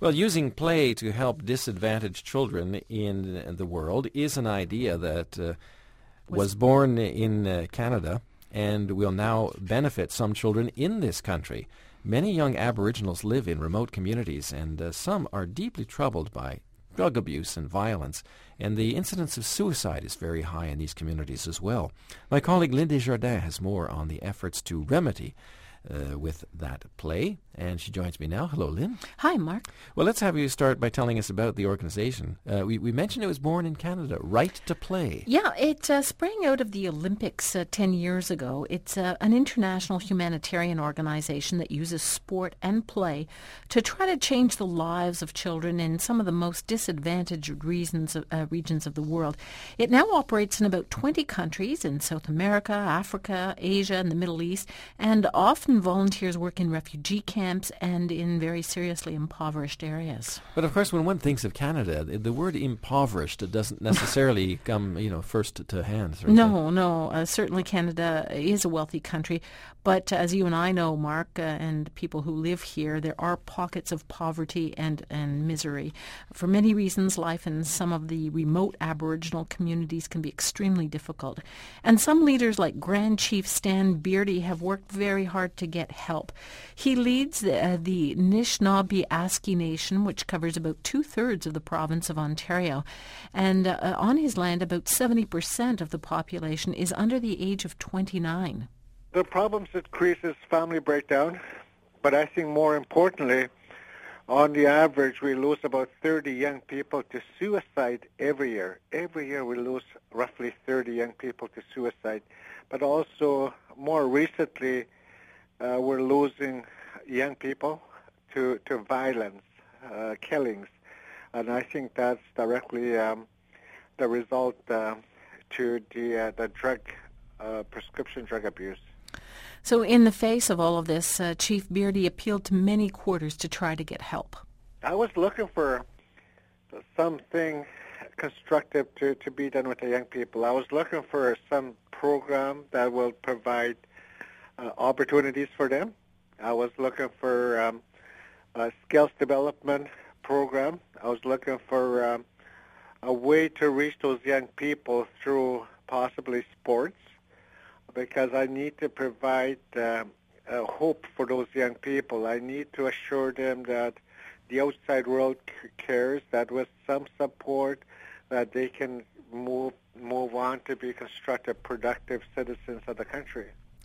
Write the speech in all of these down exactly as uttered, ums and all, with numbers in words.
Well, using play to help disadvantaged children in the world is an idea that uh, was born in uh, Canada and will now benefit some children in this country. Many young Aboriginals live in remote communities, and uh, some are deeply troubled by drug abuse and violence, and the incidence of suicide is very high in these communities as well. My colleague Lynn Desjardins has more on the efforts to remedy Uh, with that play, and she joins me now. Hello, Lynn. Hi, Mark. Well, let's have you start by telling us about the organization. Uh, we, we mentioned it was born in Canada, Right to Play. Yeah, it uh, sprang out of the Olympics uh, ten years ago. It's uh, an international humanitarian organization that uses sport and play to try to change the lives of children in some of the most disadvantaged reasons of, uh, regions of the world. It now operates in about twenty countries in South America, Africa, Asia, and the Middle East, and often volunteers work in refugee camps and in very seriously impoverished areas. But of course, when one thinks of Canada, the, the word impoverished doesn't necessarily come, you know, first to, to hand. No, no. Uh, certainly Canada is a wealthy country, but as you and I know, Mark, uh, and people who live here, there are pockets of poverty and, and misery. For many reasons, life in some of the remote Aboriginal communities can be extremely difficult. And some leaders like Grand Chief Stan Beardy have worked very hard to get help. He leads the, uh, the Anishinaabe-Aski Nation, which covers about two-thirds of the province of Ontario. And uh, on his land, about seventy percent of the population is under the age of twenty-nine. The problems increases family breakdown, but I think more importantly, on the average, we lose about thirty young people to suicide every year. Every year we lose roughly thirty young people to suicide. But also, more recently, uh, we're losing young people to, to violence, uh, killings. And I think that's directly um, the result uh, to the, uh, the drug, uh, prescription drug abuse. So in the face of all of this, uh, Chief Beardy appealed to many quarters to try to get help. I was looking for something constructive to, to be done with the young people. I was looking for some program that will provide uh, opportunities for them. I was looking for um, a skills development program. I was looking for um, a way to reach those young people through possibly sports, because I need to provide uh, a hope for those young people. I need to assure them that the outside world c- cares, that with some support, that they can move move on to be constructive, productive citizens of the country.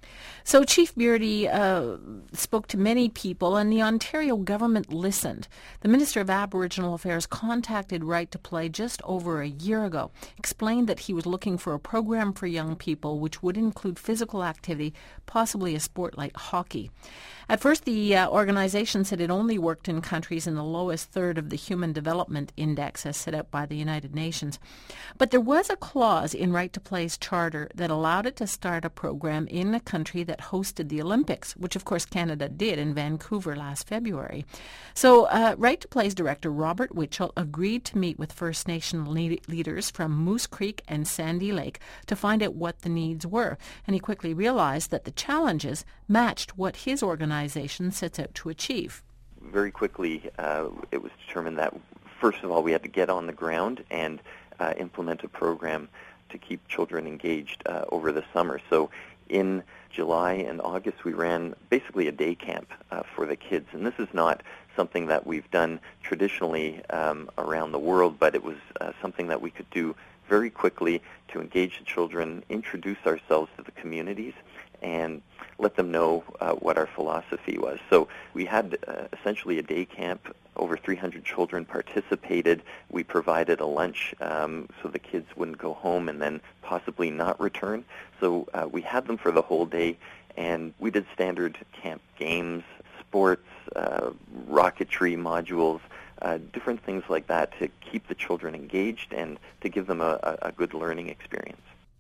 So Chief Beardy uh, spoke to many people, and the Ontario government listened. The Minister of Aboriginal Affairs contacted Right to Play just over a year ago, explained that he was looking for a program for young people which would include physical activity, possibly a sport like hockey. At first, the uh, organization said it only worked in countries in the lowest third of the Human Development Index as set out by the United Nations. But there was a clause in Right to Play's charter that allowed it to start a program in a country that hosted the Olympics, which of course Canada did in Vancouver last February. So uh, Right to Play's director, Robert Witchell, agreed to meet with First Nation le- leaders from Moose Creek and Sandy Lake to find out what the needs were. And he quickly realized that the challenges matched what his organization sets out to achieve. Very quickly, uh, it was determined that, first of all, we had to get on the ground and uh, implement a program to keep children engaged uh, over the summer. So in July and August, we ran basically a day camp uh, for the kids. And this is not something that we've done traditionally um, around the world, but it was uh, something that we could do very quickly to engage the children, introduce ourselves to the communities, and let them know uh, what our philosophy was. So we had uh, essentially a day camp. Over three hundred children participated. We provided a lunch um, so the kids wouldn't go home and then possibly not return. So uh, we had them for the whole day, and we did standard camp games, sports, uh, rocketry modules, uh, different things like that to keep the children engaged and to give them a, a, a good learning experience.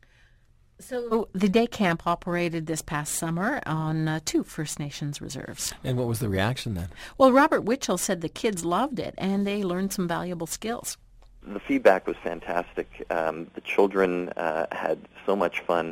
So the day camp operated this past summer on uh, two First Nations reserves. And what was the reaction then? Well, Robert Witchell said the kids loved it and they learned some valuable skills. The feedback was fantastic. Um, the children uh, had so much fun.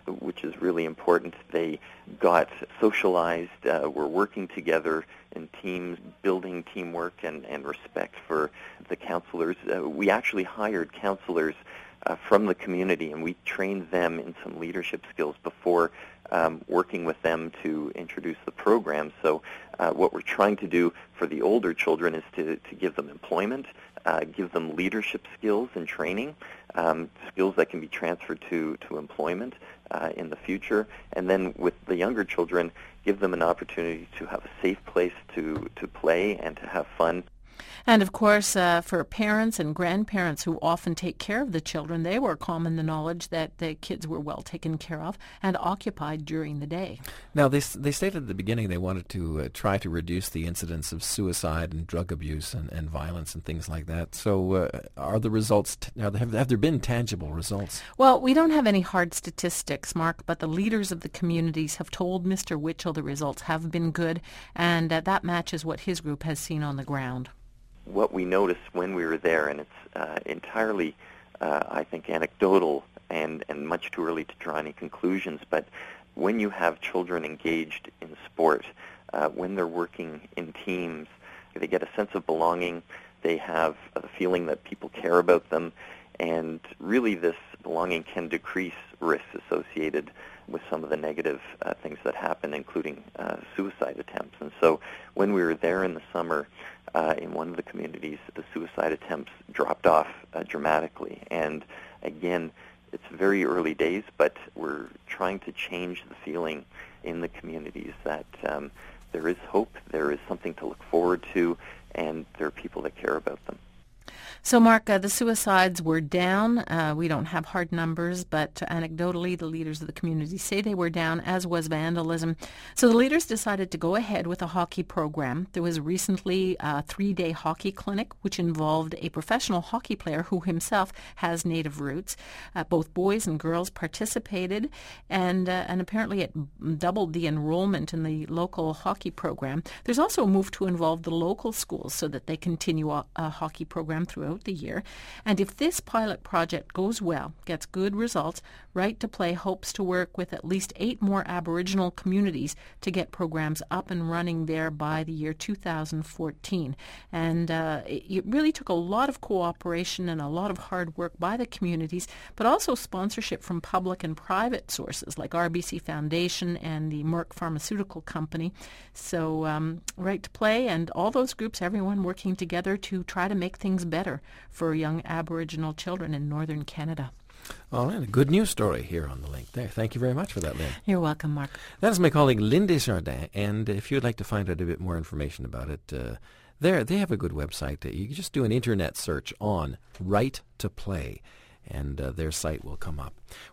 which is really important. They got socialized, uh, were working together in teams, building teamwork and, and respect for the counselors. Uh, we actually hired counselors uh, from the community, and we trained them in some leadership skills before um, working with them to introduce the program. So uh, what we're trying to do for the older children is to, to give them employment, uh, give them leadership skills and training, um, skills that can be transferred to, to employment uh, in the future. And then with the younger children, give them an opportunity to have a safe place to, to play and to have fun. And of course, uh, for parents and grandparents who often take care of the children, they were common the knowledge that the kids were well taken care of and occupied during the day. Now, they they stated at the beginning they wanted to uh, try to reduce the incidence of suicide and drug abuse and, and violence and things like that. So uh, are the results, t- are there, have, have there been tangible results? Well, we don't have any hard statistics, Mark, but the leaders of the communities have told Mister Witchell the results have been good, and uh, that matches what his group has seen on the ground. What we noticed when we were there, and it's uh, entirely, uh, I think, anecdotal and, and much too early to draw any conclusions, but when you have children engaged in sport, uh, when they're working in teams, they get a sense of belonging, they have a feeling that people care about them, and really this belonging can decrease risks associated with some of the negative uh, things that happen, including uh, suicide attempts. And so when we were there in the summer, uh, in one of the communities, the suicide attempts dropped off uh, dramatically. And again, it's very early days, but we're trying to change the feeling in the communities that um, there is hope, there is something to look forward to, and there are people that care about them. So, Mark, uh, the suicides were down. Uh, we don't have hard numbers, but anecdotally, the leaders of the community say they were down, as was vandalism. So the leaders decided to go ahead with a hockey program. There was recently a three-day hockey clinic, which involved a professional hockey player who himself has Native roots. Uh, both boys and girls participated, and uh, and apparently it doubled the enrollment in the local hockey program. There's also a move to involve the local schools so that they continue a, a hockey program throughout the year. And if this pilot project goes well, gets good results, Right to Play hopes to work with at least eight more Aboriginal communities to get programs up and running there by the year two thousand fourteen. And uh, it really took a lot of cooperation and a lot of hard work by the communities, but also sponsorship from public and private sources like R B C Foundation and the Merck Pharmaceutical Company. So um, Right to Play and all those groups, everyone working together to try to make things better for young Aboriginal children in northern Canada. All right, a good news story here on The Link there. Thank you very much for that, Lynn. You're welcome, Mark. That is my colleague Lynn Desjardins, and if you'd like to find out a bit more information about it, uh, there they have a good website. You can just do an internet search on Right to Play, and uh, their site will come up.